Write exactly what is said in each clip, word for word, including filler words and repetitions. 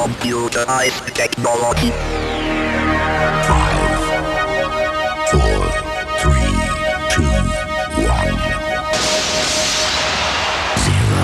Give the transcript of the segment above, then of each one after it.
Computerized technology. Five, four, three, two, one, zero.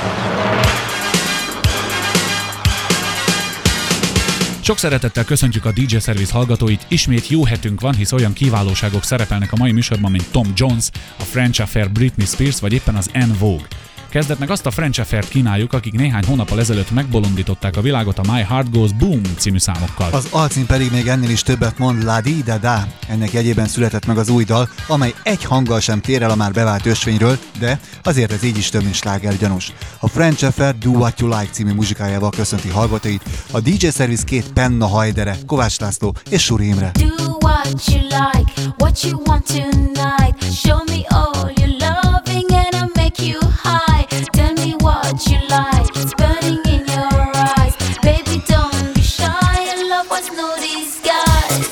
Sok szeretettel köszöntjük a dé dzsé Service hallgatóit, ismét jó hetünk van, hisz olyan kiválóságok szerepelnek a mai műsorban, mint Tom Jones, a French Affair Britney Spears, vagy éppen az En Vogue. Kezdetnek azt a French Affair-t kínáljuk, akik néhány hónappal ezelőtt megbolondították a világot a My Heart Goes Boom című számokkal. Az alcím pedig még ennél is többet mond, La Di Da Da. Ennek jegyében született meg az új dal, amely egy hanggal sem tér el a már bevált ösvényről, de azért ez így is több, mint slágergyanús. A French Affair Do What You Like című muzsikájával köszönti hallgatóit a dé dzsé Service két penna hajdere, Kovács László és Suri Imre. Do what you like, what you want tonight. Show me all your loving and I'll make you high. Tell me what you like, it's burning in your eyes. Baby, don't be shy, and love was no disguise.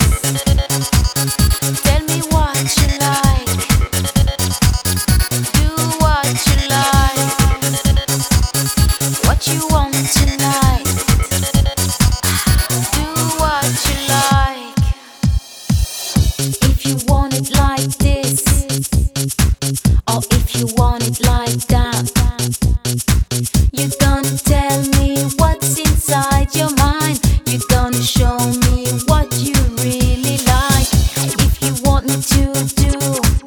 Tell me what you like, do what you like, what you want tonight. Do what you like. If you want it like this, or if you want it like that, you're gonna tell me what's inside your mind. You're gonna show me what you really like. If you want me to do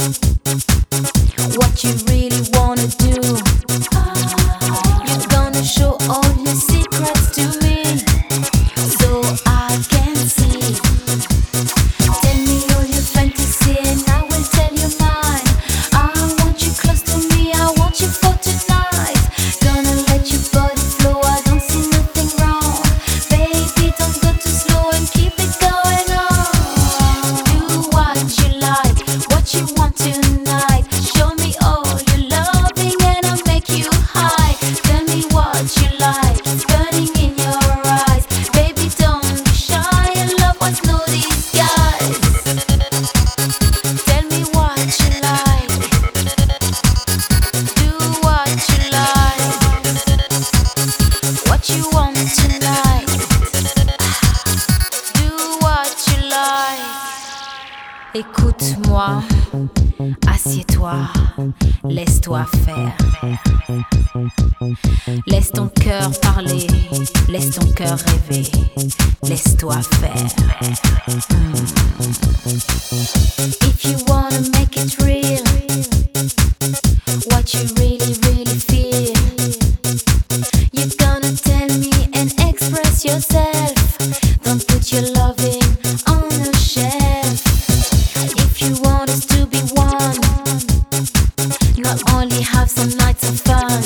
what you really wanna do, you're gonna show all your secrets to me so I can see. Tell me all your fantasy and I will tell you mine. I want you close to me, I want you for tonight. Gonna let your body flow, I don't see nothing wrong. Baby, don't go too slow and keep it going on. Do what you like, what you want tonight. Show me all your loving and I'll make you high. Tell me what you like, it's burning in your eyes. Baby, don't be shy, and love was no disguise. Tell me what you like, do what you like, what you want tonight. Do what you like. Écoute-moi, assieds-toi, laisse-toi faire. Laisse ton cœur parler, laisse ton cœur rêver, laisse-toi faire. Mm. If you wanna make it real, what you really, really feel, you're gonna tell me and express yourself. Don't put your loving on a shelf. If you want us to be one, not only have some nights of fun,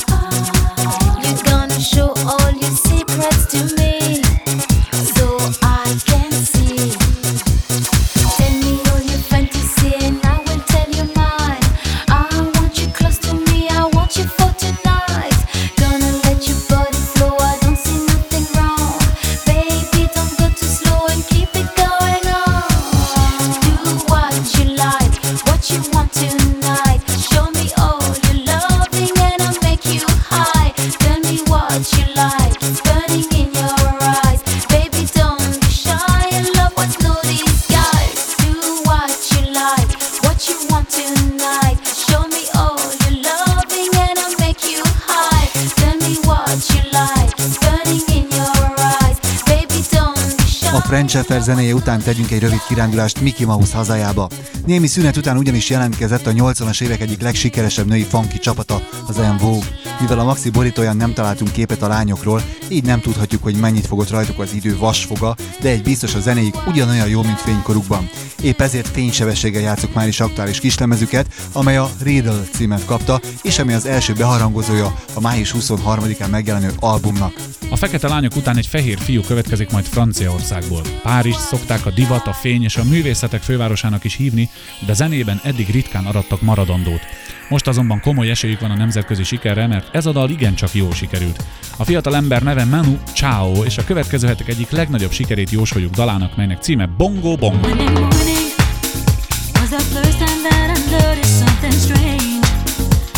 you're gonna show all your secrets to me so I can see. Tell me all your fantasy and I will tell you mine. I want you close to me, I want you for tonight. Gonna let your body flow, I don't see nothing wrong. Baby, don't go too slow and keep it going on. Do what you like, what you want tonight. Show me all your loving and I'll make you high. Tell me what you like, it's burning in your eyes. Baby, don't be shy, and love was no disguise. Do what you like, what you want tonight. Show me all your loving and I'll make you high. Tell me what you like, it's burning in your eyes. Baby, don't be shy. A French Affair zenéje után tegyünk egy rövid kirándulást Mickey Mouse hazájába. Némi szünet után ugyanis jelentkezett a nyolcvanas évek egyik legsikeresebb női funky csapata, az En Vogue. Mivel a maxi borítóján nem találtunk képet a lányokról, így nem tudhatjuk, hogy mennyit fogott rajtuk az idő vasfoga, de egy biztos, a zenéik ugyanolyan jó, mint fénykorukban. Épp ezért fénysebességgel játszuk már is aktuális kislemezüket, amely a Riddle címet kapta, és ami az első beharangozója a május huszonharmadikán megjelenő albumnak. A fekete lányok után egy fehér fiú következik majd Franciaországból. Párizst szokták a divat, a fény és a művészetek fővárosának is hívni, de zenében eddig ritkán arattak maradandót. Most azonban komoly esélyük van a nemzetközi sikerre, mert ez a dal igencsak jól sikerült. A fiatal ember neve Manu Chao, és a következő hetek egyik legnagyobb sikerét jósoljuk dalának, melynek címe Bongo Bongo.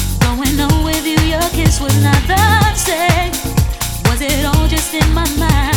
Was it all just in my mind?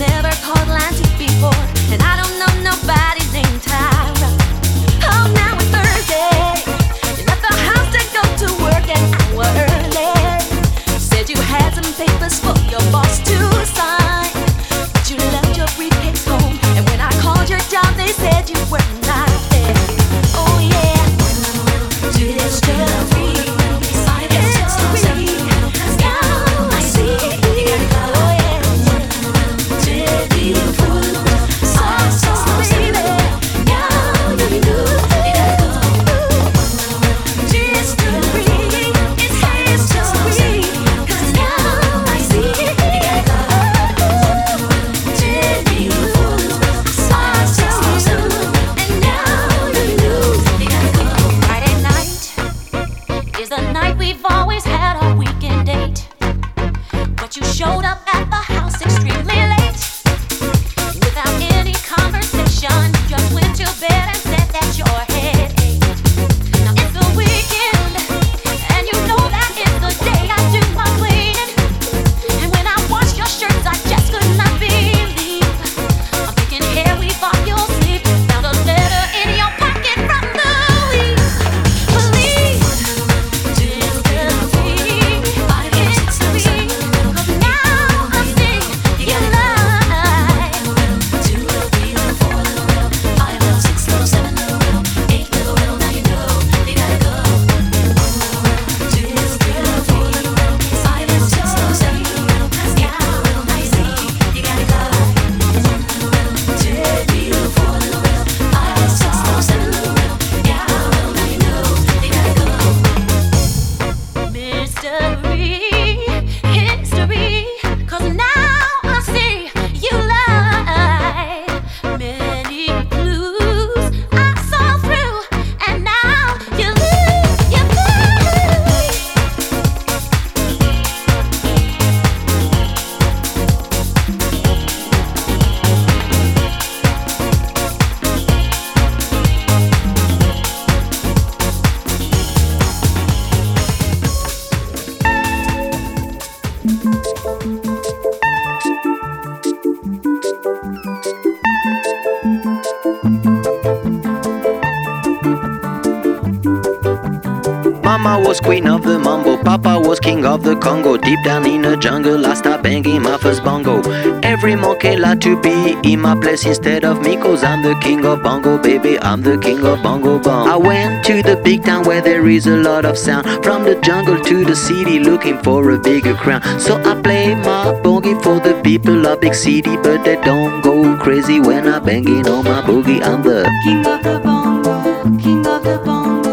never called line two before, and I don't know nobody named Tyra. Oh, now it's Thursday. You left the house to go to work an hour early. Said you had some papers for your boss to sign, but you left your briefcase home. And when I called your job, they said you were not there. Oh yeah, mystery. Showed up at the house extremely late. Without any conversation, just went to bed and said that your head ached. Now it's the weekend, and you know that is the day I do my cleaning. And when I washed your shirts, I just could not believe I'm thinking, here we fall your sleep. Found a letter in your pocket from the week. Police, Mama was queen of the mambo, Papa was king of the Congo. Deep down in the jungle, I start banging my first bongo. Every monkey like to be in my place instead of me, cause I'm the king of bongo, baby, I'm the king of bongo bong. I went to the big town where there is a lot of sound, from the jungle to the city looking for a bigger crown. So I play my boogie for the people of big city, but they don't go crazy when I'm banging on my boogie. I'm the king of the bongo, king of the bongo.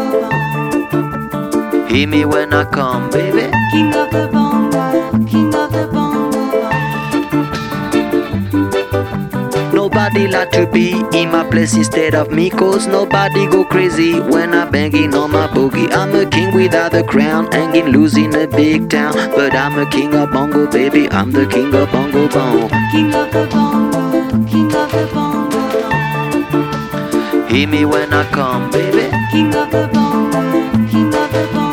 Hear me when I come, baby. King of the bongo, king of the bongo. Nobody like to be in my place instead of me, cause nobody go crazy when I'm banging on my boogie. I'm a king without a crown, hanging loose in a big town, but I'm a king of bongo, baby, I'm the king of bongo bong. King of the bongo, king of the bongo. Hear me when I come, baby. King of the bongo, king of the bongo.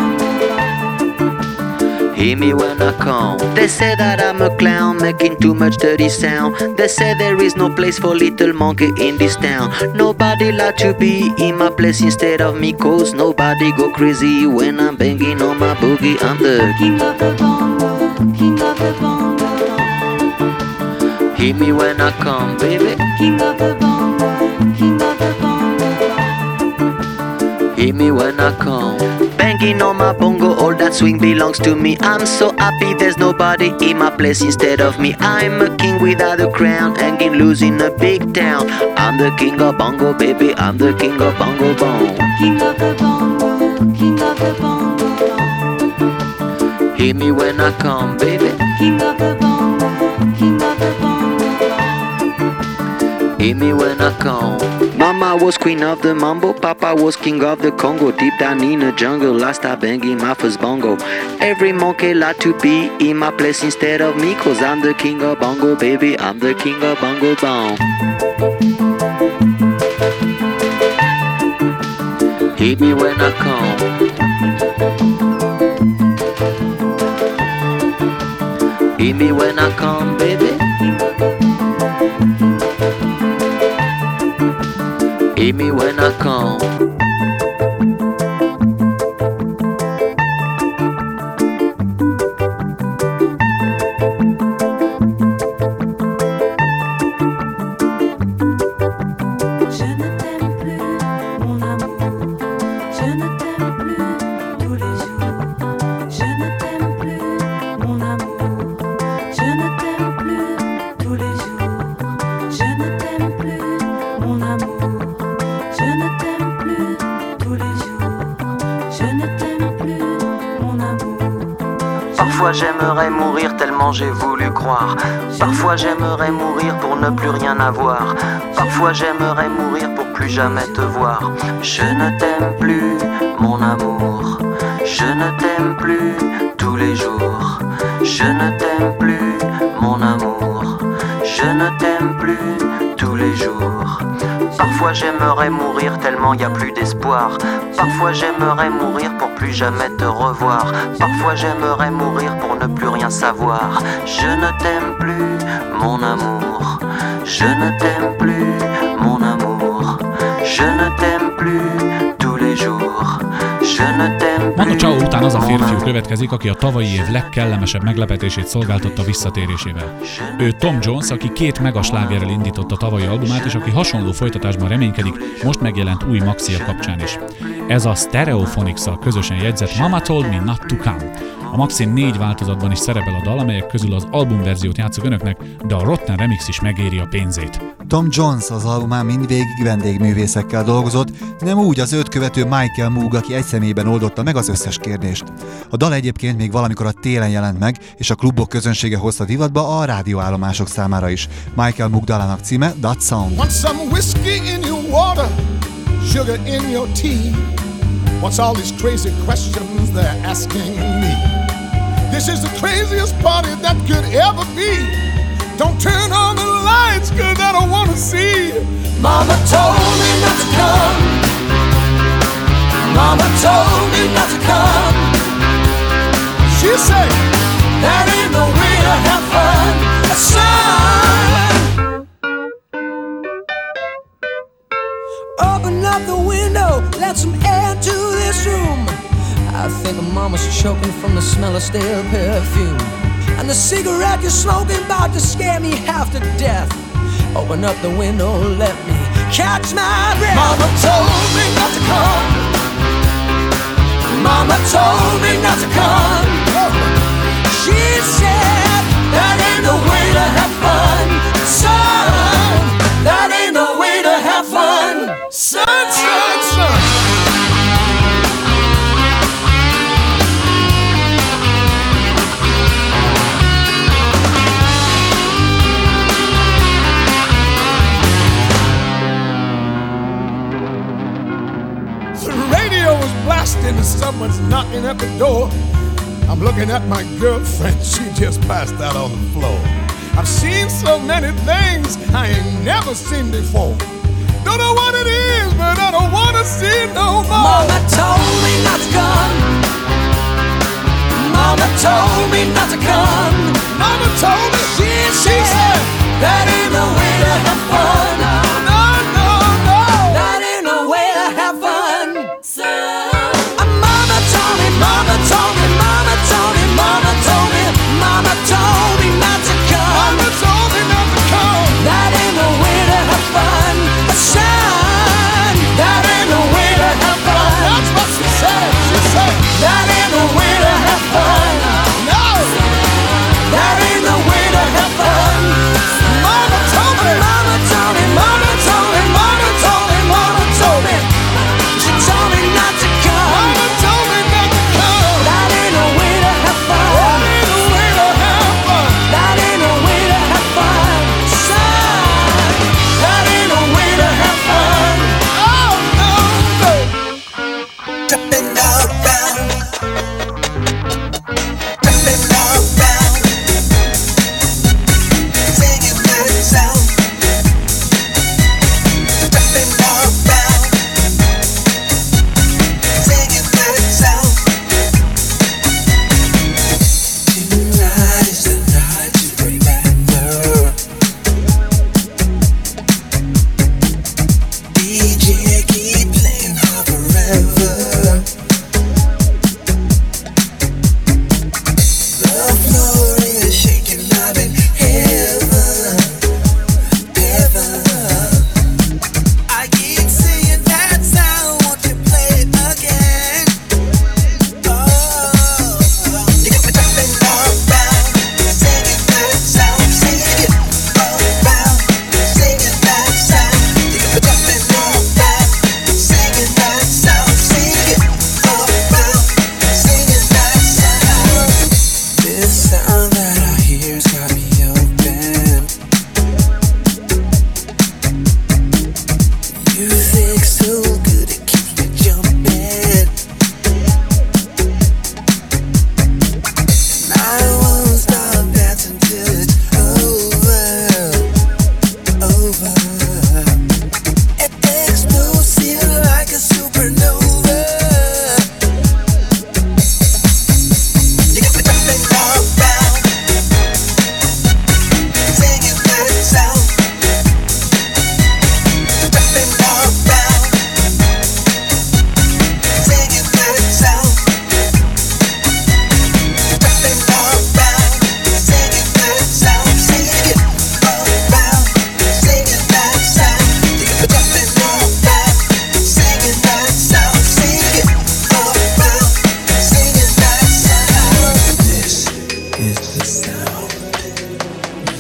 Hear me when I come. They say that I'm a clown, making too much dirty sound. They say there is no place for little monkey in this town. Nobody like to be in my place instead of me, cause nobody go crazy when I'm banging on my boogie. I'm the king of the bongo, king of the bongo. Hear me when I come, baby. King of the bongo, king of the bongo. Hear me when I come. Banging on my bongo, all that swing belongs to me. I'm so happy there's nobody in my place instead of me. I'm a king without a crown, hanging loose in a big town. I'm the king of bongo, baby, I'm the king of bongo bong. King of the bongo, king of the bongo. Hear me when I come, baby. King of the bongo, king of the bongo. Hear me when I come. Mama was queen of the mambo, Papa was king of the Congo. Deep down in the jungle, I start banging my first bongo. Every monkey like to be in my place instead of me, cause I'm the king of bongo, baby, I'm the king of bongo bong. Hear me when I come. Hear me when I come, baby. Meet me when I come. Parfois j'aimerais mourir tellement j'ai voulu croire. Parfois j'aimerais mourir pour ne plus rien avoir. Parfois j'aimerais mourir pour plus jamais te voir. Je ne t'aime plus, mon amour. Je ne t'aime plus tous les jours. Je ne t'aime plus, mon amour. Je ne t'aime plus tous les jours. Parfois j'aimerais mourir tellement y a plus d'espoir. Parfois j'aimerais mourir pour plus jamais te revoir. Parfois j'aimerais mourir pour ne plus rien savoir. Je ne t'aime plus, mon amour. Je ne t'aime plus, mon amour. Je ne t'aime plus tous les jours. Je ne t'aime plus. Manu Chao után az a férfiú következik, aki a tavalyi év legkellemesebb meglepetését szolgáltatta visszatérésével. Ő Tom Jones, aki két megaslágerrel indította a tavalyi albumát, és aki hasonló folytatásban reménykedik, most megjelent új maxia kapcsán is. Ez a Stereophonics-szal közösen jegyzett Mama Told Me Not To Come. A maxin négy változatban is szerepel a dal, amelyek közül az albumverziót játszok önöknek, de a Rotten Remix is megéri a pénzét. Tom Jones az albumán mindvégig vendégművészekkel dolgozott, nem úgy az őt követő Michael Moog, aki egy személyben oldotta meg az összes kérdést. A dal egyébként még valamikor a télen jelent meg, és a klubok közönsége hozta divatba a rádióállomások számára is. Michael Moog dalának címe That Sound. Want some whiskey in your water, sugar in your tea. What's all these crazy questions they're asking me? This is the craziest party that could ever be. Don't turn on the lights, cause I don't wanna see. Mama told me not to come. Mama told me not to come. She said, that ain't no way to have fun. Son, open up the window, let some air to this room. I think mama's choking from the smell of stale perfume. And the cigarette you're smoking about to scare me half to death. Open up the window, let me catch my breath. Mama told me not to come. Mama told me not to come. She said, that ain't no way to have fun. Son, that ain't no way to have fun. Son, son, son. And someone's knocking at the door. I'm looking at my girlfriend, she just passed out on the floor. I've seen so many things I ain't never seen before. Don't know what it is, but I don't wanna see no more. Mama told me not to come. Mama told me not to come. Mama told me, she, she said, that ain't no way to have fun. No, no, no, that ain't no way to have fun. So Mama told me, mama told me, mama told me, mama told me not to come. Mama told me not to come. That ain't no way to have fun. Son, that ain't no way to have fun. That's what she said, she said. That ain't no way to have fun. No. That ain't no way to have fun. Mama told me, mama told me, mama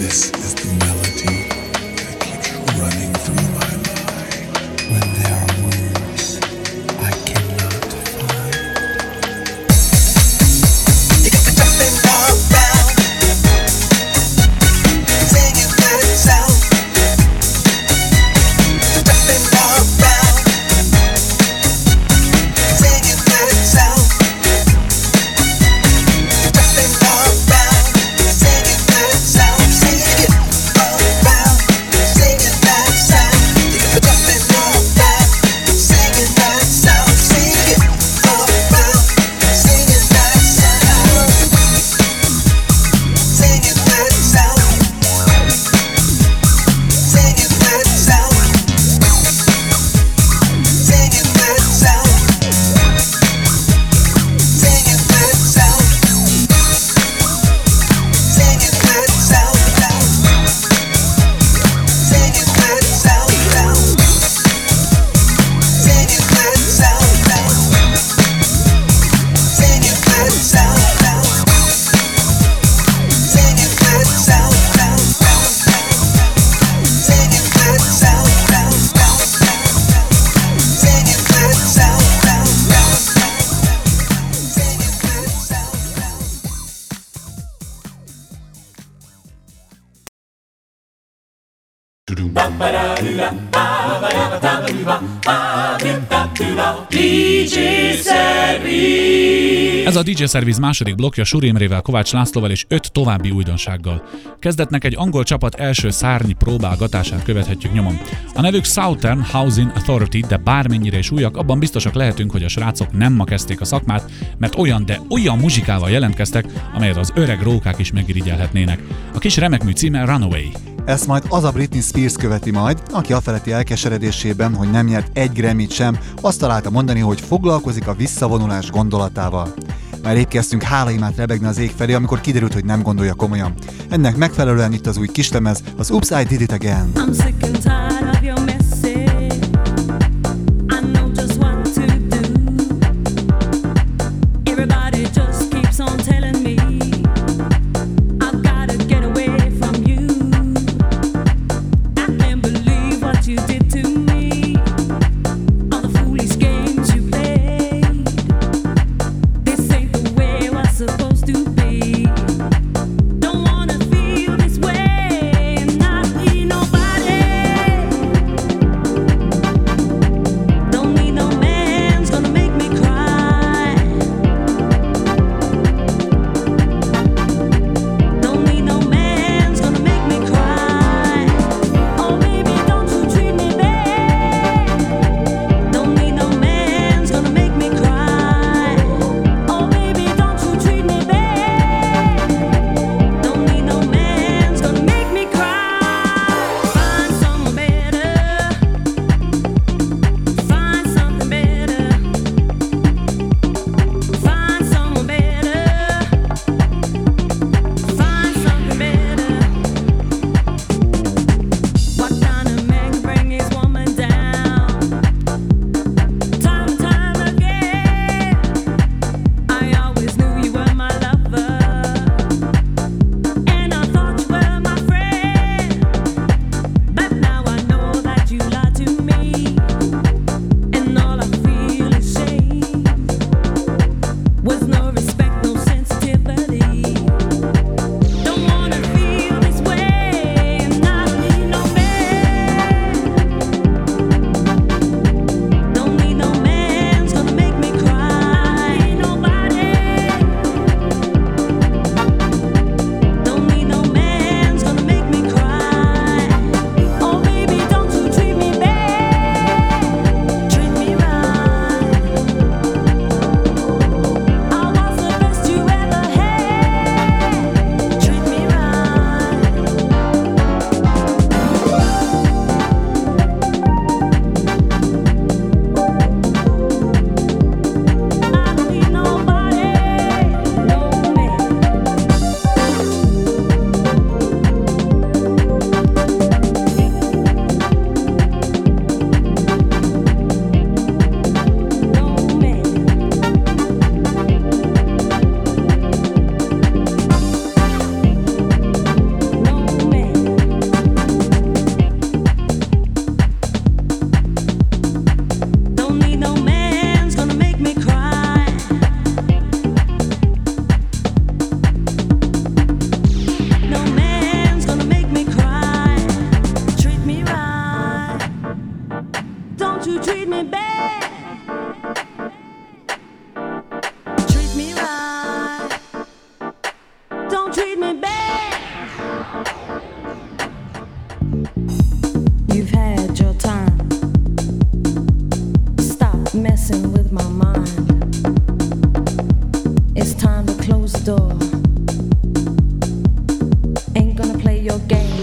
dé dzsé Service. Ez a dé dzsé Service második blokkja Suri Imrével, Kovács Lászlóval és öt további újdonsággal. Kezdetnek egy angol csapat első szárnyi próbálgatását követhetjük nyomon. A nevük Southern Housing Authority, de bármennyire is újak, abban biztosak lehetünk, hogy a srácok nem ma kezdték a szakmát, mert olyan, de olyan muzsikával jelentkeztek, amelyet az öreg rókák is megirigyelhetnének. A kis remekmű címe Runaway. Ezt majd az a Britney Spears követi majd, aki afeletti elkeseredésében, hogy nem nyert egy Grammyt sem, azt találta mondani, hogy foglalkozik a visszavonulás gondolatával. Már épp kezdtünk hálaimát rebegni az ég felé, amikor kiderült, hogy nem gondolja komolyan. Ennek megfelelően itt az új kislemez, az Oops, I Did It Again. I'm sick and tired of your message. I know just what to do. Everybody just keeps on telling me I've gotta get away from you. I can't believe what you did to me. All the foolish games you played. This ain't the way it was supposed to be. Don't wanna feel this way and not be nobody.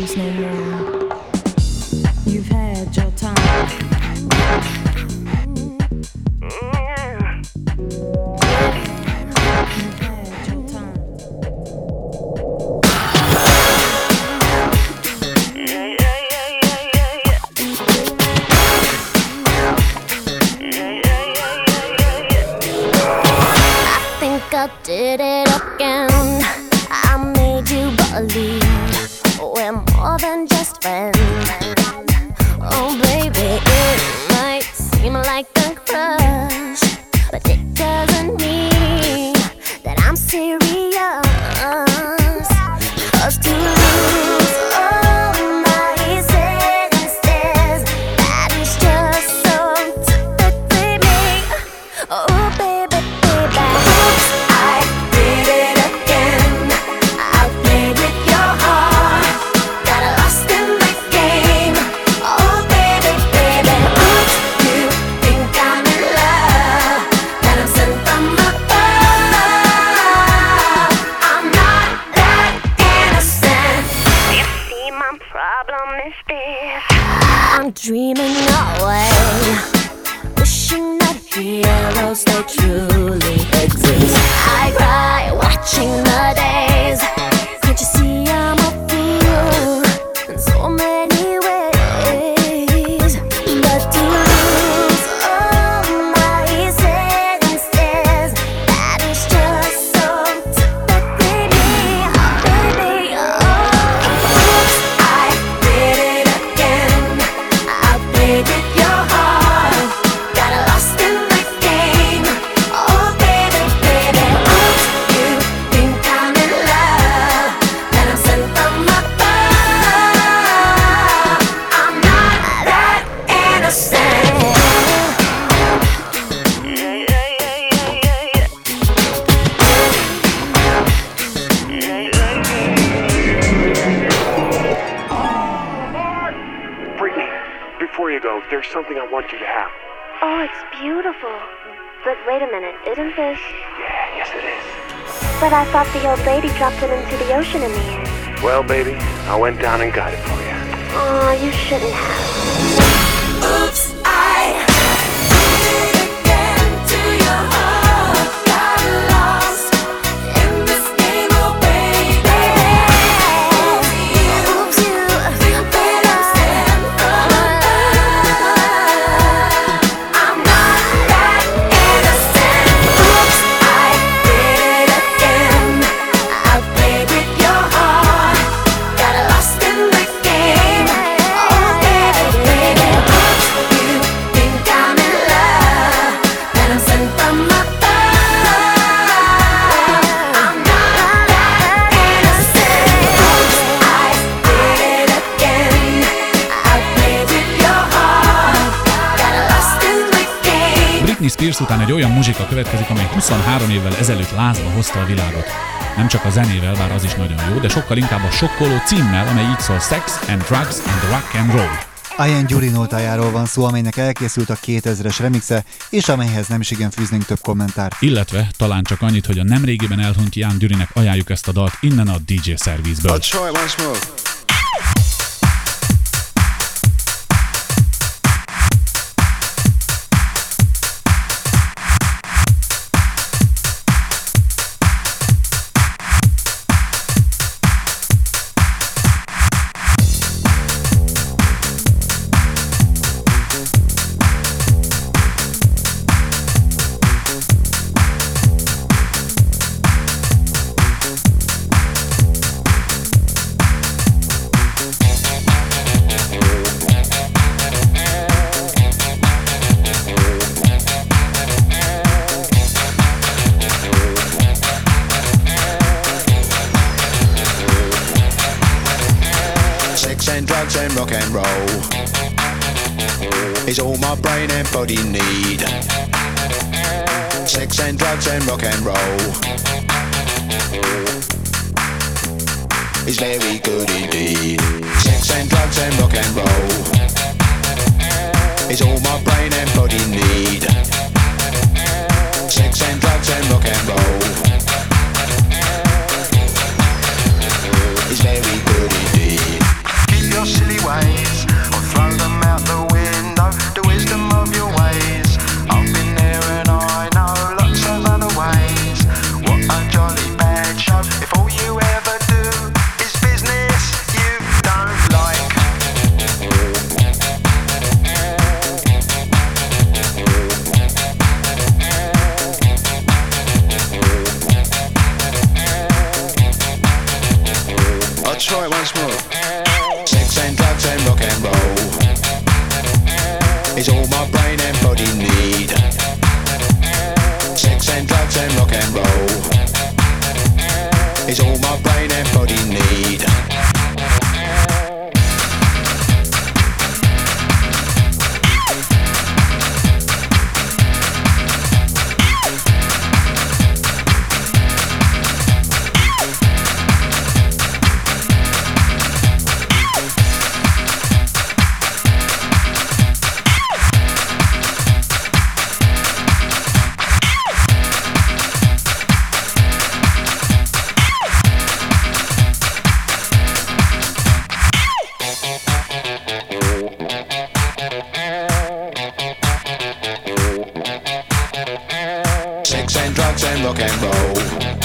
games no more. You've had your time. I did it again. I made you believe we're more than just friends. Oh baby, it might seem like a crush, but it doesn't mean that I'm serious. 'Cause to lose all my senses, that is just so typically me. Oh baby, baby, I did it again. I played with your heart, got lost in the game. Oh baby, baby, oops, you think I'm in love, that I'm sent from above. I'm not that innocent. You see, my problem is this: I'm dreaming away, wishing that heroes they truly exist. I cry watching the days. Can't you see I'm a fool in so many ways? But to lose all my senses, that is just so typically me, baby. Oh, oops, I did it again. I played with your heart, got lost in the game. Oh baby, baby, oops, you think I'm in love, that I'm sent from above. I'm not that innocent. Brittany, before you go, there's something I want you to have. Oh, it's beautiful. But wait a minute, isn't this? Yeah, yes it is. But I thought the old lady dropped it into the ocean in the end. Well, baby, I went down and got it for you. Oh, you shouldn't have. Oops, I did it again to your heart. Got lost in this game, oh baby. Oops, you think I'm sent from above. I'm not that innocent. Oops, I did it again. I played with your heart, got lost in the game. Oh baby, baby, oops, you think I'm in love, that I'm sent from above. I'm not that innocent. Oops, I did it again. I played with your heart, got lost in the game. Britney Spears után egy olyan muzsika következik, amely huszonhárom évvel ezelőtt lázba hozta a világot. Nem csak a zenével, bár az is nagyon jó, de sokkal inkább a sokkoló címmel, amely így szól: Sex and Drugs and Rock and Roll. Ian Gyuri nótájáról van szó, amelynek elkészült a kétezres remixe, és amelyhez nem is igen fűznénk több kommentárt. Illetve talán csak annyit, hogy a nemrégiben elhunyt Ian Gyurinek ajánljuk ezt a dalt innen a dé dzsé szervizből. I'll try it once more. drugs and rock and roll is all my brain and body need. Sex and drugs and rock and roll is very good indeed. Sex and drugs and rock and roll is all my brain and body need. Sex and drugs and rock and roll is very good indeed. Sex and drugs and rock and roll is all my brain and body need. Sex and drugs and rock and roll is all my brain and body need. Rock and roll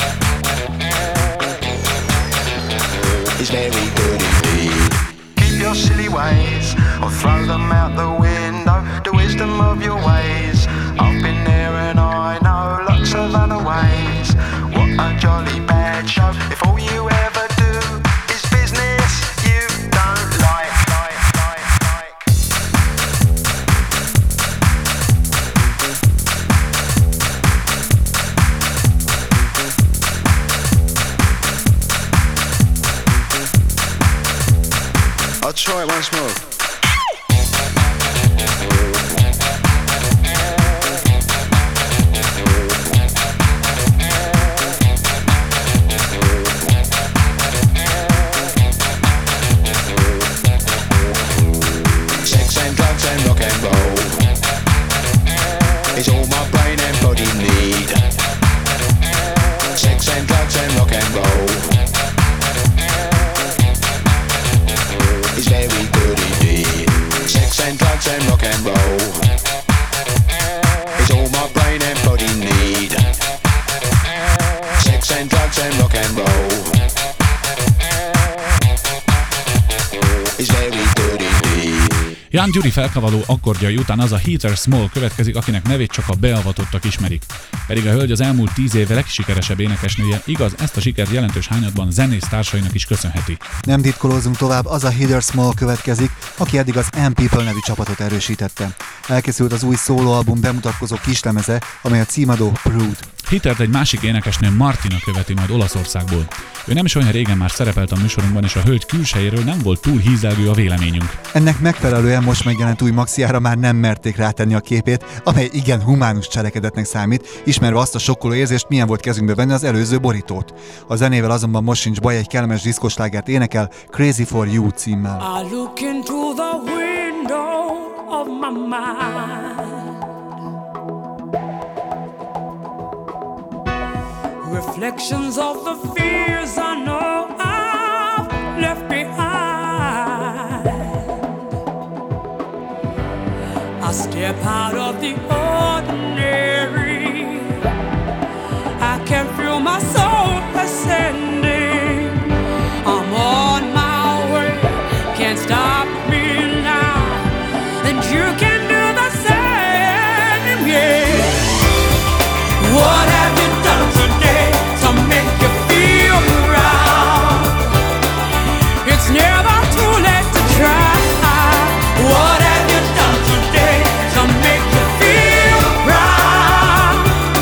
is very good indeed. Keep your silly ways or throw them out the window. The wisdom of your ways, I've been there and I know lots of other ways. What a jolly bad show if all you ever do is business you don't like, like, like, like. I'll try it once more. Sex and drugs and rock and roll is all my brain and body need. Sex and drugs and rock and roll is very good indeed. Sex and drugs and rock and roll is all my brain and body need. Sex and drugs and rock and roll is very good indeed. Jan Gyuri felkavaló akkordjai után az a Heather Small következik, akinek nevét csak a beavatottak ismerik. Pedig a hölgy az elmúlt tíz év legsikeresebb énekesnője, igaz, ezt a sikert jelentős hányadban zenész társainak is köszönheti. Nem titkolózunk tovább, az a Heather Small következik, aki eddig az M People nevű csapatot erősítette. Elkészült az új szólóalbum bemutatkozó kislemeze, amely a címadó Prude. Heathert egy másik énekesnő, Martina követi majd Olaszországból. Ő nem is olyan régen már szerepelt a műsorunkban, és a hölgy külsejéről nem volt túl hízelgő a véleményünk. Ennek megfelelően most megjelent új maxiára már nem merték rátenni a képét, amely igen humánus cselekedetnek számít, ismerve azt a sokkoló érzést, milyen volt kezünkbe venni az előző borítót. A zenével azonban most sincs baj, egy kellemes diszkoslágert énekel, Crazy for You címmel. I look into the window of my mind, reflections of the fears I know I've left behind. I step out of the ordinary, I can feel my soul ascending. I'm on my way, can't stop me now, and you can do the same, yeah. What have you done today to make you feel proud? It's never too late to try. What have you done today to make you feel proud?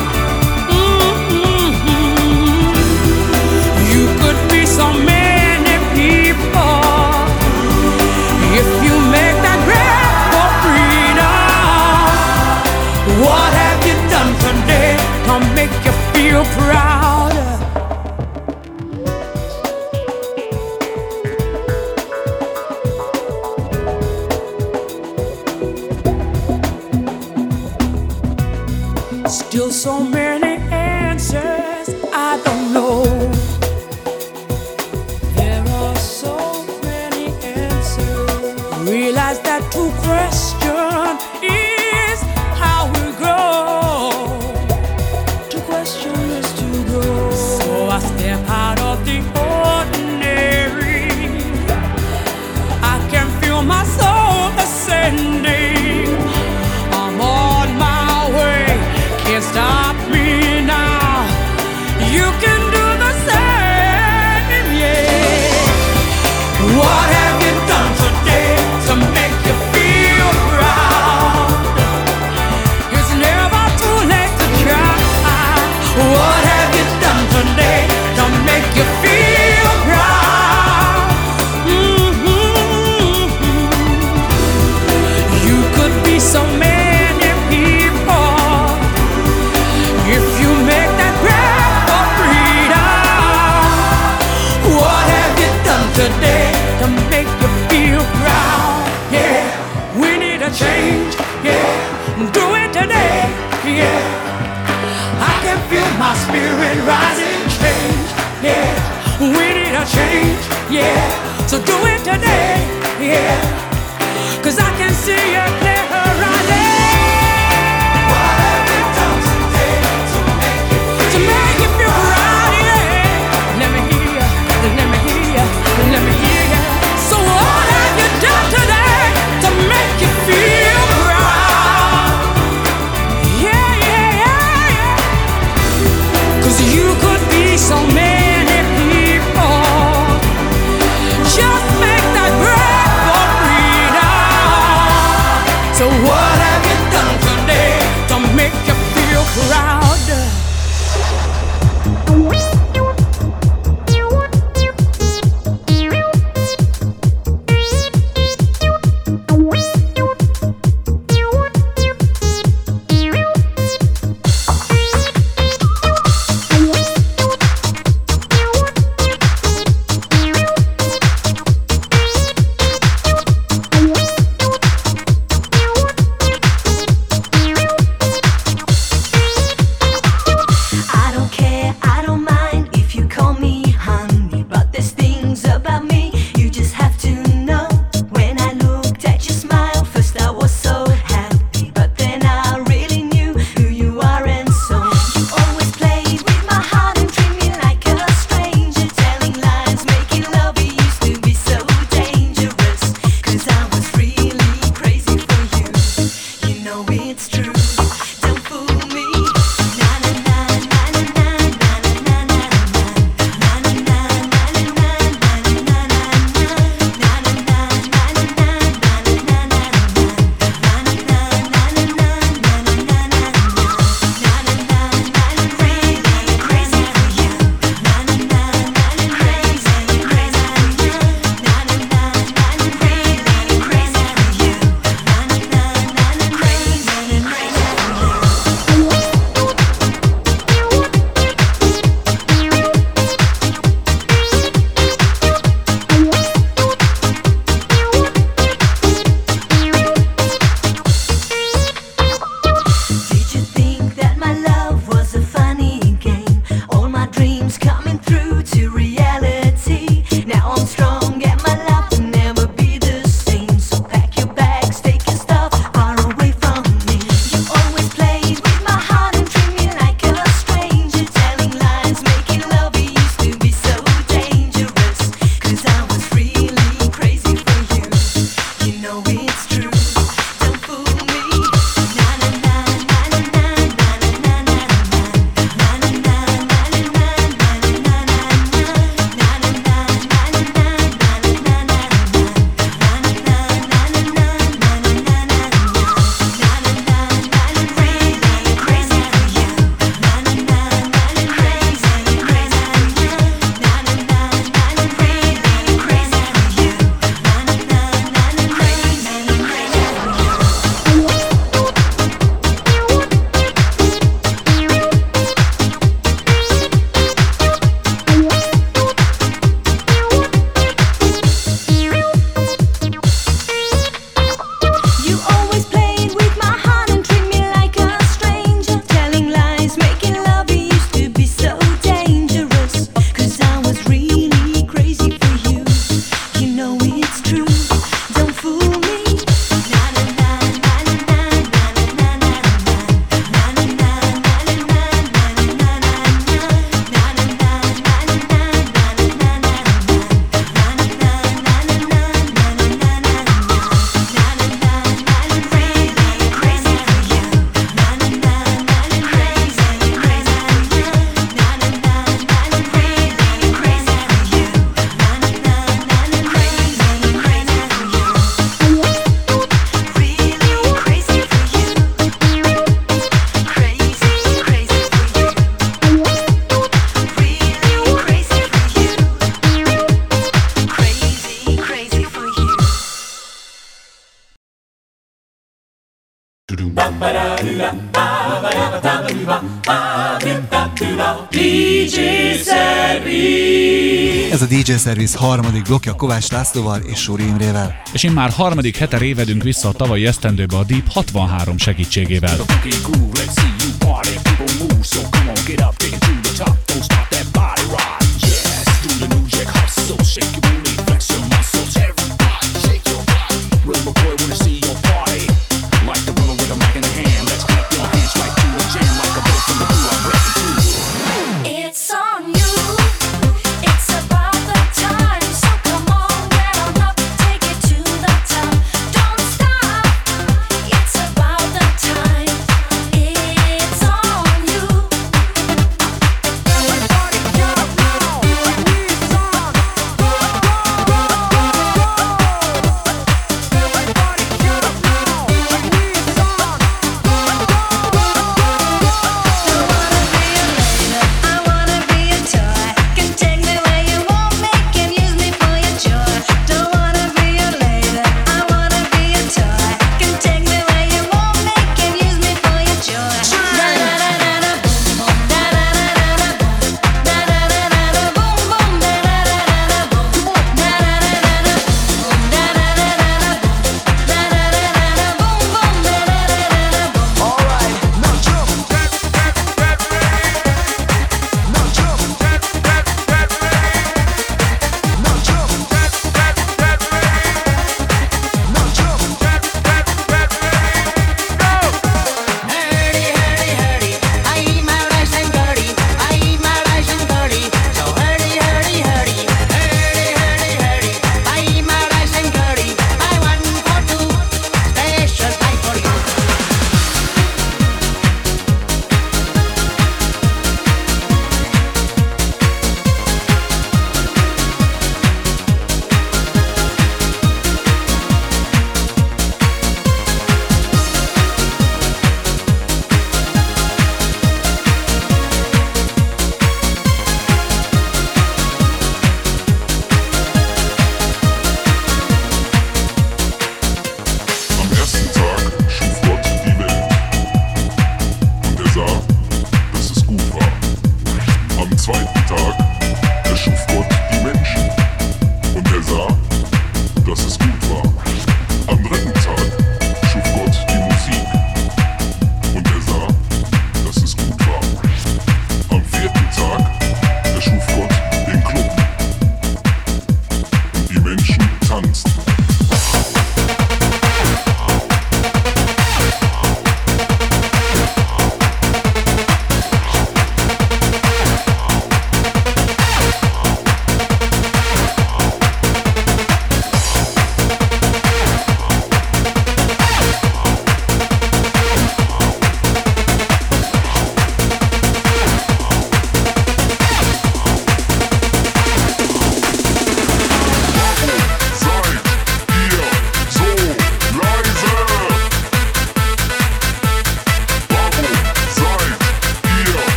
Mm-hmm. You could be so many people if you make that grab for freedom. What have you done today to make you feel proud? Still so many answers I don't know. There are so many answers. Realize that to question is how we grow. To question is to grow. So I step out of the ordinary. I can feel my soul ascending. I'm on my way, can't stop me now. You can do the same, yeah. What have you done So do it today, yeah. Cause I can see you clear horizon. What have you done today to make you feel, to make you feel proud, yeah. Let me hear you, let me hear you, let me hear you. So what have you done today to make you feel proud? Yeah, yeah, yeah, yeah. Cause you could be so many people. Just make that break for freedom. So what have you done today to make you feel proud? dé dzsé Service. Ez a dé dzsé Service harmadik blokkja Kovács Lászlóval és Sóri Imrével. És én már harmadik hete révedünk vissza a tavalyi esztendőbe a Deep hatvanhárom segítségével. Shake your booty, flex your muscle.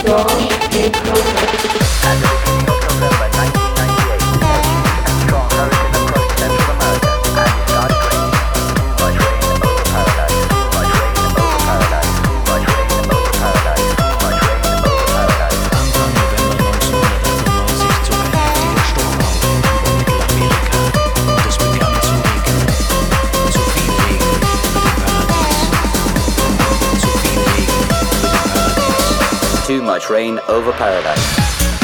Too much rain over paradise.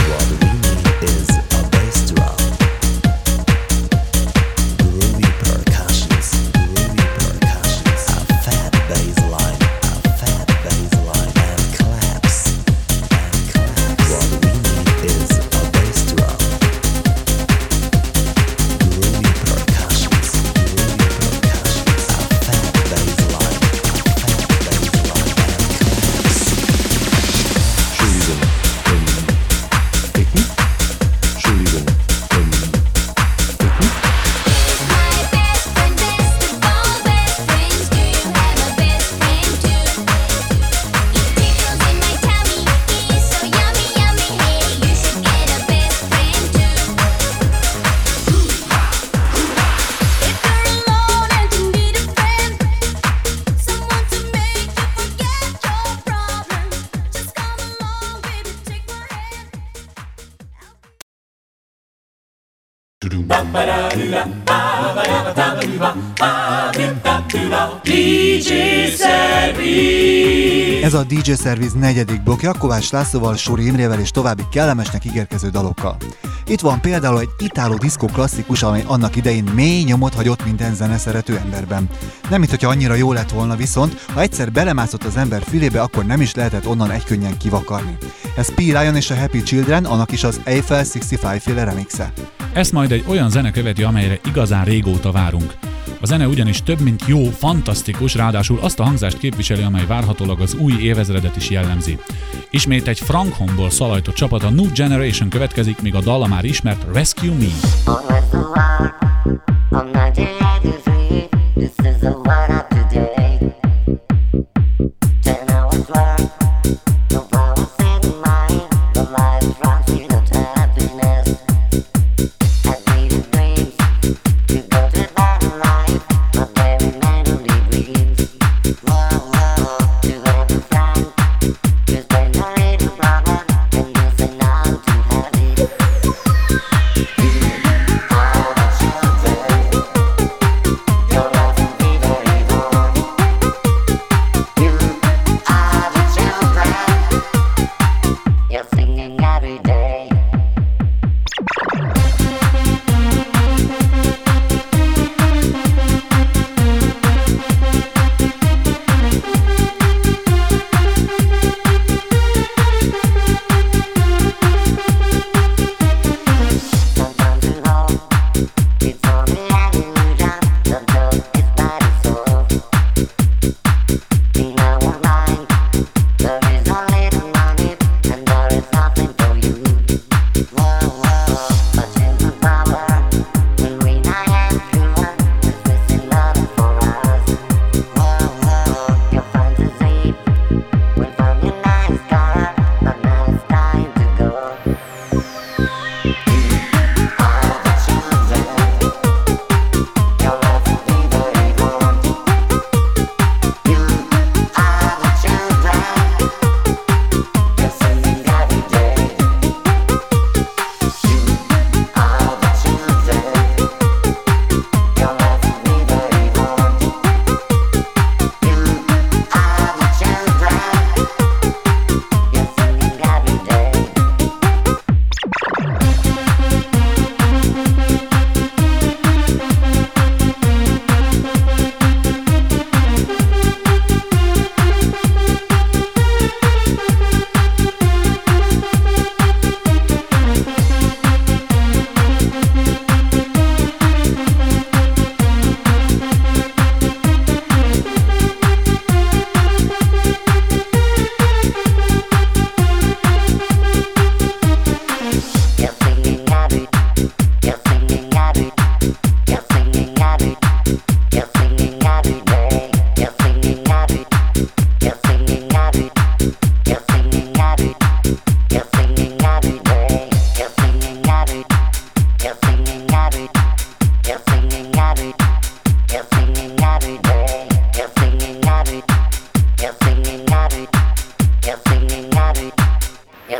dé dzsé Service. Ez a dé dzsé Service negyedik blokja Kovács Lászlóval, Sóri Imrével és további kellemesnek ígérkező dalokkal. Itt van például egy italo diszkó klasszikus, amely annak idején mély nyomot hagyott minden zeneszerető emberben. Nem mintha annyira jó lett volna, viszont ha egyszer belemászott az ember fülébe, akkor nem is lehetett onnan egykönnyen kivakarni. Ez P. Ryan és a Happy Children, annak is az Eiffel hatszázötven féle remixe. Ezt majd egy olyan zene követi, amelyre igazán régóta várunk. A zene ugyanis több mint jó, fantasztikus, ráadásul azt a hangzást képviseli, amely várhatólag az új évezredet is jellemzi. Ismét egy Frankhomból szalajtott csapat, a New Generation következik, míg a dala már ismert Rescue Me. You're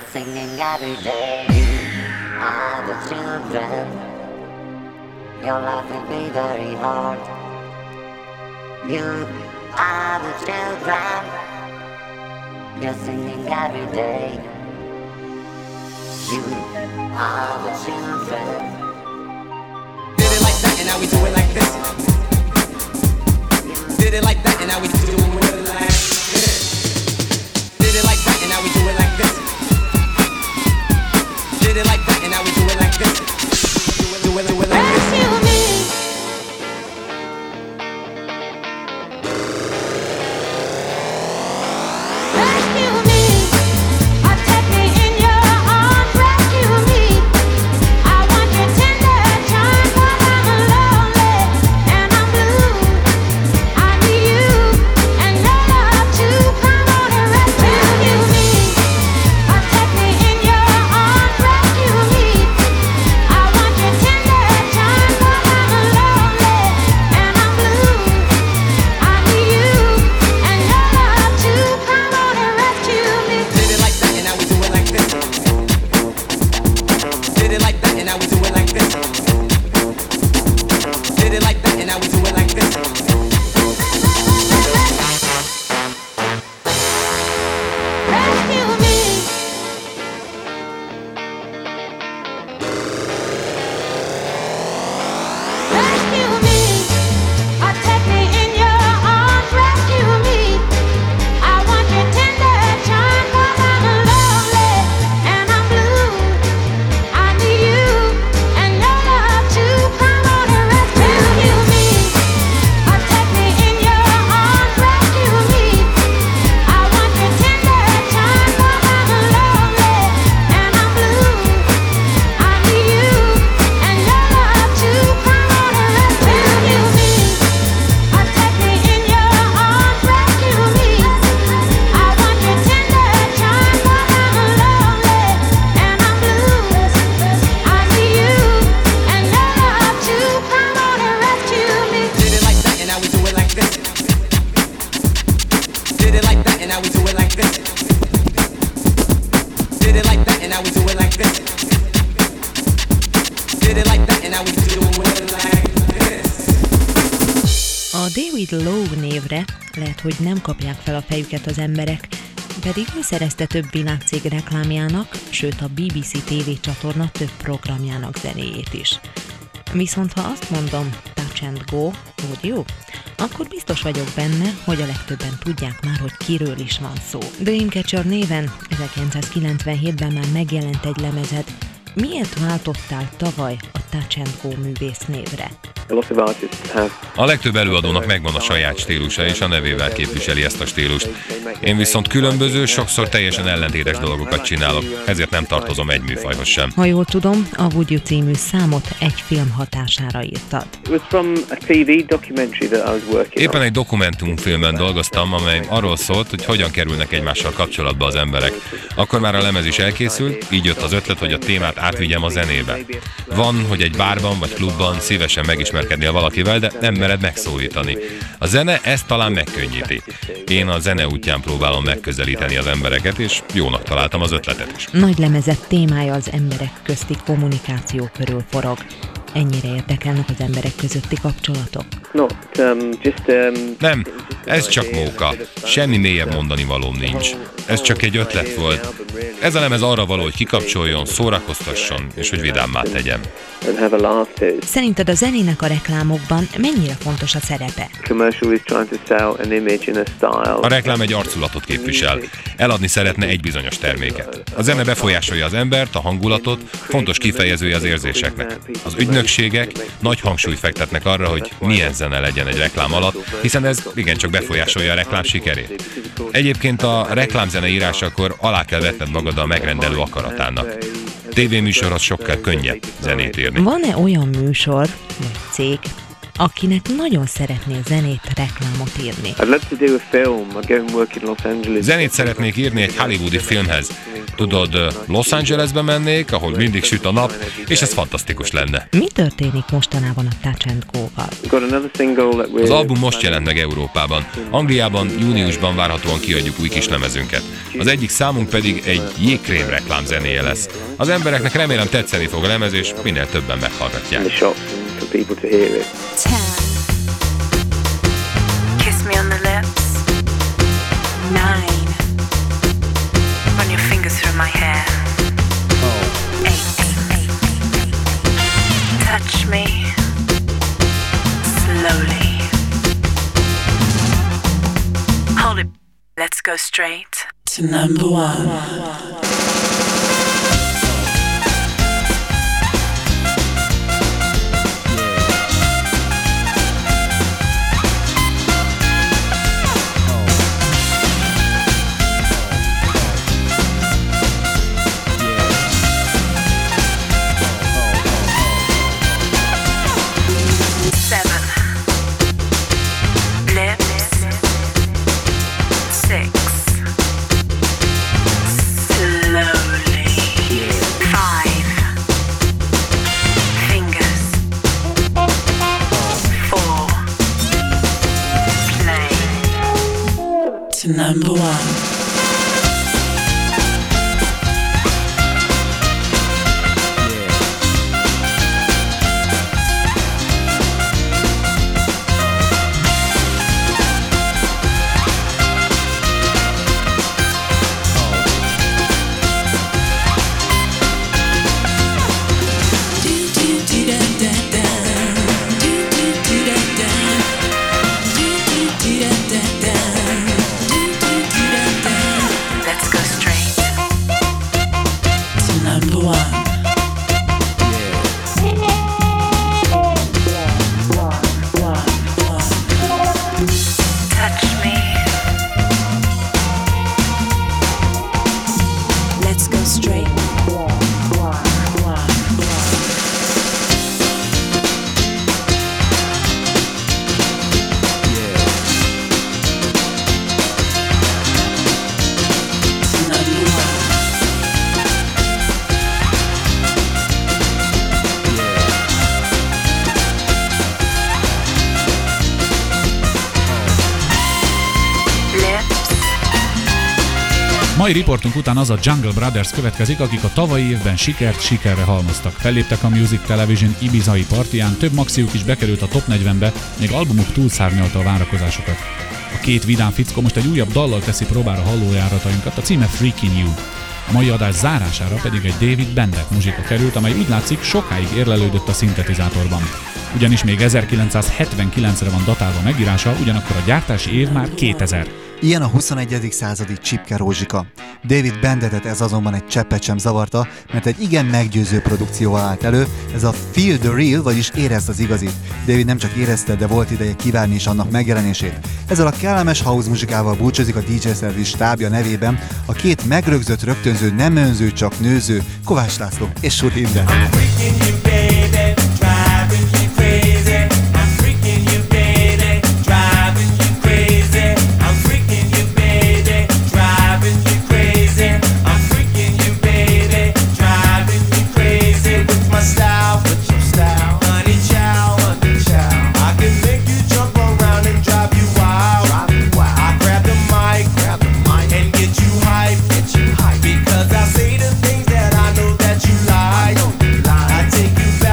singing every day. You are the children. Your life will be very hard. You are the children. You're singing every day. You are the children. Did it like that and now we do it like this. Did it like that and now we do it like this. Did it like that and now we do it like this. Did it like that and now we do it like this. Do it, do it, do it like this. Rescue me. Rescue me. Or take me in your arms. Rescue me. I want your tender charm. 'Cause I'm lonely and I'm blue. I need you and your love too. Come on and rescue me. Or take me in your arms. Rescue me. I want your tender charm. 'Cause I'm lonely and I'm blue. I need you and your love too. Come on and rescue me. Did it like that and now we do it like this. Did it like that and now we do it like this. Did it like that and now we do it like this. Rescue me. Rescue me. Or take me in your arms. Rescue me. I want your tender charm. 'Cause I'm lonely and I'm blue. I need you and your love too. Come on and rescue me. Or take me in your arms. Rescue me. I want your tender charm. 'Cause I'm lonely and I'm blue. I need you and your love too. Come on and rescue me. Or take me in your arms. Rescue me. I want your tender charm. 'Cause I'm lonely and I'm blue. I need you and your love too. Come on and rescue me. Did it like that and now we do it like this. Did it like that and now we do it like this. Did it like that and now we do it like this. Did it like that and now we do it like this. A David Lowe névre lehet, hogy nem kapják fel a fejüket az emberek, pedig ő szerezte több világcég reklámjának, sőt a bé bé cé té vé csatorna több programjának zenéjét is. Viszont ha azt mondom Touch and Go, would you? Akkor biztos vagyok benne, hogy a legtöbben tudják már, hogy kiről is van szó. Dreamcatcher néven ezerkilencszázkilencvenhétben már megjelent egy lemezed. Miért váltottál tavaly a Touch and Go művész névre? A legtöbb előadónak megvan a saját stílusa, és a nevével képviseli ezt a stílust. Én viszont különböző, sokszor teljesen ellentétes dolgokat csinálok, ezért nem tartozom egy műfajhoz sem. Ha jól tudom, a Would You című számot egy film hatására írtad. Éppen egy dokumentumfilmen dolgoztam, amely arról szólt, hogy hogyan kerülnek egymással kapcsolatba az emberek. Akkor már a lemez is elkészült, így jött az ötlet, hogy a témát átvigyem a zenébe. Van, hogy egy bárban vagy klubban szívesen megismerkednél valakivel, de nem mered megszólítani. A zene ezt talán megkönnyíti. Én a zene útján próbálom megközelíteni az embereket, és jónak találtam az ötletet is. Nagy lemezet témája az emberek közti kommunikáció körül forog. Ennyire érdekelnek az emberek közötti kapcsolatok? Nem, ez csak móka. Semmi mélyebb mondani valóm nincs. Ez csak egy ötlet volt. Ez a lemez arra való, hogy kikapcsoljon, szórakoztasson, és hogy vidámmá tegyen. Szerinted a zenének a reklámokban mennyire fontos a szerepe? A reklám egy arculatot képvisel. Eladni szeretne egy bizonyos terméket. A zene befolyásolja az embert, a hangulatot, fontos kifejezője az érzéseknek. Az ügynökségek nagy hangsúlyt fektetnek arra, hogy milyen zene legyen egy reklám alatt, hiszen ez igencsak befolyásolja a reklám sikerét. Egyébként a reklámzene írásakor alá kell vetned magad a megrendelő akaratának. Tévéműsorhoz sokkal könnyebb zenét írni. Van-e olyan műsor, vagy cég, akinek nagyon szeretné zenét, reklámot írni. I'd love to do a film. I'd go and work in Los Angeles. Zenét szeretnék írni egy hollywoodi filmhez. Tudod, Los Angelesbe mennék, ahol mindig süt a nap, és ez fantasztikus lenne. Mi történik mostanában a Touch and Go-val? Az album most jelent meg Európában. Angliában júniusban várhatóan kiadjuk új kislemezünket. Az egyik számunk pedig egy jégkrém reklám zenéje lesz. Az embereknek remélem tetszeni fog a lemez, és minél többen meghallgatják. Ten. Kiss me on the lips. Nine. Run your fingers through my hair. Eight. Touch me slowly. Hold it. Let's go straight to number one. Number one. Mai riportunk után az a Jungle Brothers következik, akik a tavalyi évben sikert sikerre halmoztak. Felléptek a Music Television ibizai partiján, több maxiuk is bekerült a top negyvenbe, még albumuk túlszárnyalta a várakozásokat. A két vidám fickó most egy újabb dallal teszi próbára hallójáratainkat, a címe Freaking You. A mai adás zárására pedig egy David Bendek muzsika került, amely úgy látszik sokáig érlelődött a szintetizátorban. Ugyanis még ezerkilencszázhetvenkilencre van datálva megírása, ugyanakkor a gyártási év már kétezer. Ilyen a huszonegyedik századi csipke rózsika. David Bendetet ez azonban egy cseppet sem zavarta, mert egy igen meggyőző produkcióval állt elő, ez a Feel the Real, vagyis érezd az igazit. David nem csak érezte, de volt ideje kívánni is annak megjelenését. Ezzel a kellemes house muzsikával búcsúzik a dé jé Szerviz stábja nevében a két megrögzött rögtönző, nem önző, csak nőző, Kovács László és Sud Inde. Because I say the things that I know that you like. I take you back.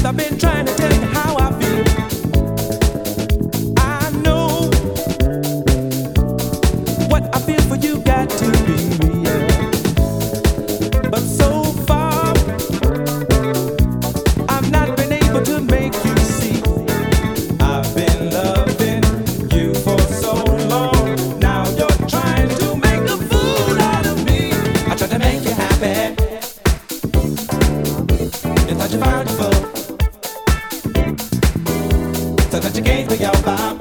I've been trying to tell you how I feel. I know what I feel for you got to be real. But so far, I've not been able to make you see. I've been loving you for so long. Now you're trying to make a fool out of me. I tried to make you happy. You thought you found your fool. So that you gave me your vibe.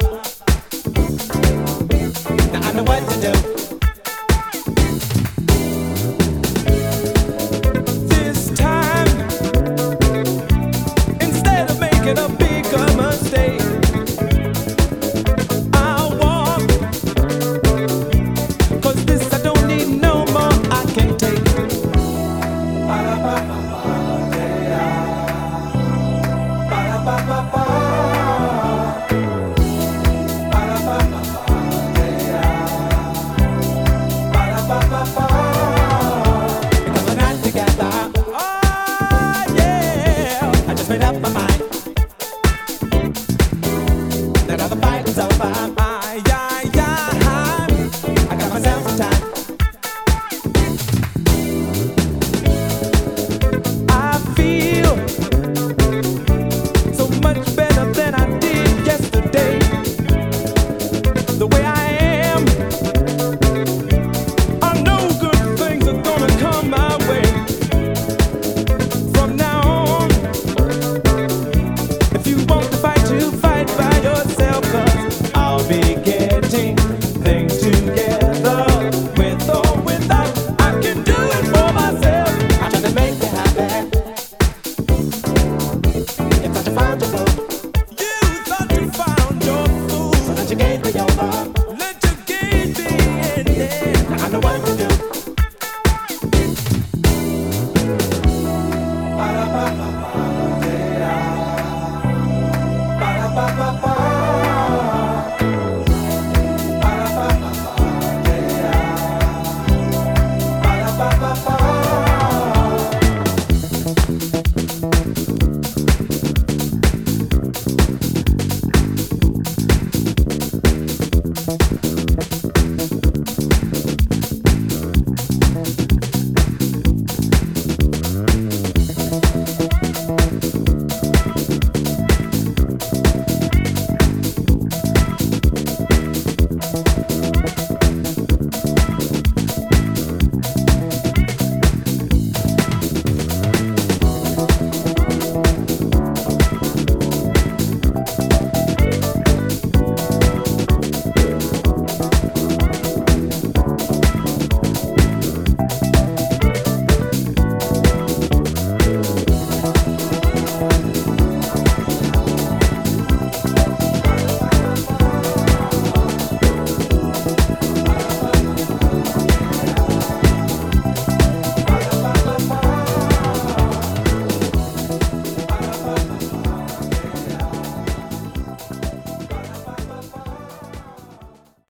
Now I know what to do. This time, instead of making a bigger mistake, I'll walk. 'Cause this I don't need no more, I can take. Because we're not together. Oh yeah, I just made up my mind that all the fighting's over. Ah, yeah, yeah, I got myself some time. I feel so much better than I did yesterday. The way I am, I know good things are gonna come my way. From now on, if you want to fight, you fight by yourself. 'Cause I'll be getting things together. With or without, I can do it for myself. I try to make you happy. You thought you found your fool. You thought you found your fool. So that you gave me your love.